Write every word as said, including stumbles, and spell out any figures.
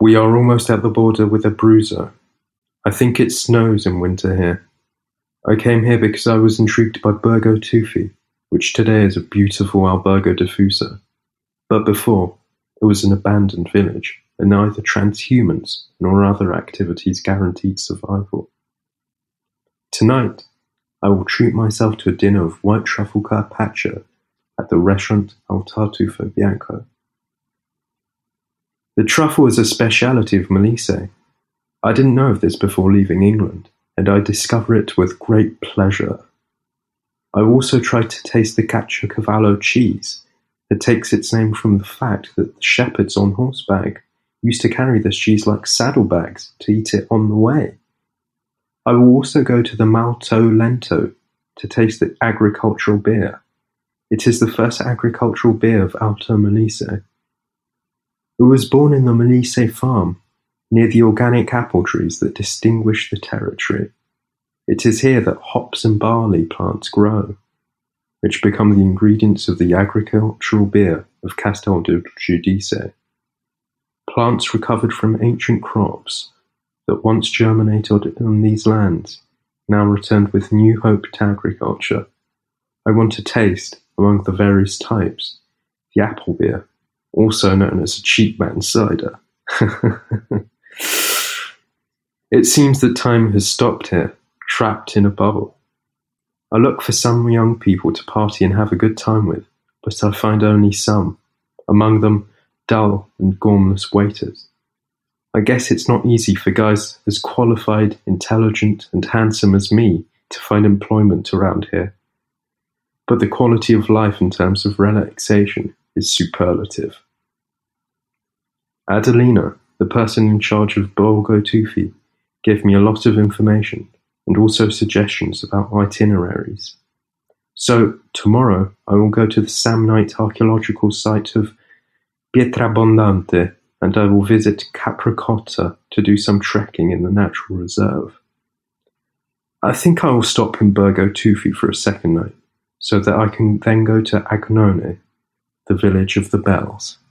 We are almost at the border with Abruzzo. I think it snows in winter here. I came here because I was intrigued by Borgo Tufi, which today is a beautiful albergo diffuso. But before, it was an abandoned village, and neither transhumance nor other activities guaranteed survival. Tonight, I will treat myself to a dinner of white truffle carpaccio at the restaurant Al Tartufo Bianco. The truffle is a speciality of Molise. I didn't know of this before leaving England, and I discover it with great pleasure. I also tried to taste the Caciocavallo cheese that takes its name from the fact that the shepherds on horseback used to carry this cheese like saddlebags to eat it on the way. I will also go to the Malto Lento to taste the agricultural beer. It is the first agricultural beer of Alto Molise. It was born in the Molise farm, near the organic apple trees that distinguish the territory. It is here that hops and barley plants grow, which become the ingredients of the agricultural beer of Castel del Giudice. Plants recovered from ancient crops that once germinated on these lands, now returned with new hope to agriculture. I want to taste, among the various types, the apple beer, also known as a cheap man's cider. It seems that time has stopped here, trapped in a bubble. I look for some young people to party and have a good time with, but I find only some, among them dull and gormless waiters. I guess it's not easy for guys as qualified, intelligent, and handsome as me to find employment around here. But the quality of life in terms of relaxation is superlative. Adelina, the person in charge of Borgo Tufi, gave me a lot of information and also suggestions about itineraries. So, tomorrow I will go to the Samnite archaeological site of Pietrabondante, and I will visit Capricotta to do some trekking in the natural reserve. I think I will stop in Borgo Tufi for a second night, so that I can then go to Agnone, the village of the bells.